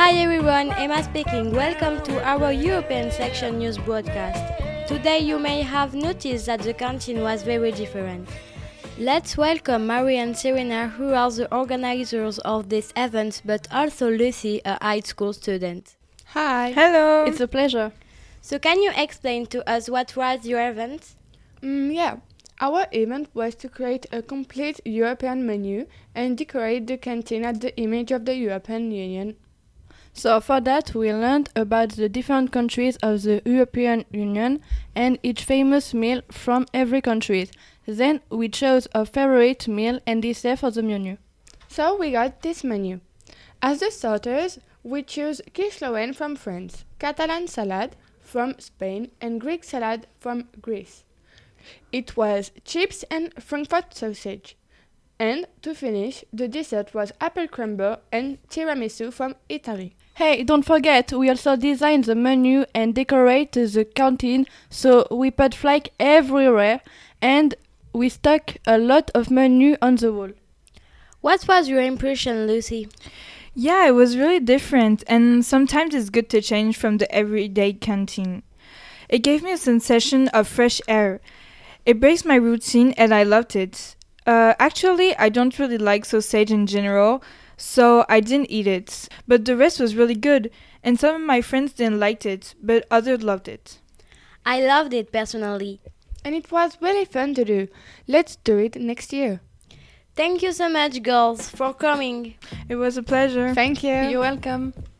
Hi everyone, Emma speaking. Welcome to our European section news broadcast. Today you may have noticed that the canteen was very different. Let's welcome Marie and Serena, who are the organizers of this event, but also Lucy, a high school student. Hi. Hello. It's a pleasure. So can you explain to us what was your event? Yeah. Our event was to create a complete European menu and decorate the canteen at the image of the European Union. So for that we learned about the different countries of the European Union and each famous meal from every country. Then we chose a favorite meal and dessert for the menu. So we got this menu. As the starters, we chose quiche Lorraine from France, Catalan salad from Spain and Greek salad from Greece. It was chips and Frankfurt sausage. And to finish, the dessert was apple crumble and tiramisu from Italy. Hey, don't forget, we also designed the menu and decorate the canteen, so we put flag everywhere and we stuck a lot of menu on the wall. What was your impression, Lucy? Yeah, it was really different, and sometimes it's good to change from the everyday canteen. It gave me a sensation of fresh air. It breaks my routine and I loved it. Actually, I don't really like sausage in general, so I didn't eat it. But the rest was really good, and some of my friends didn't like it, but others loved it. I loved it personally. And it was really fun to do. Let's do it next year. Thank you so much, girls, for coming. It was a pleasure. Thank you. You're welcome.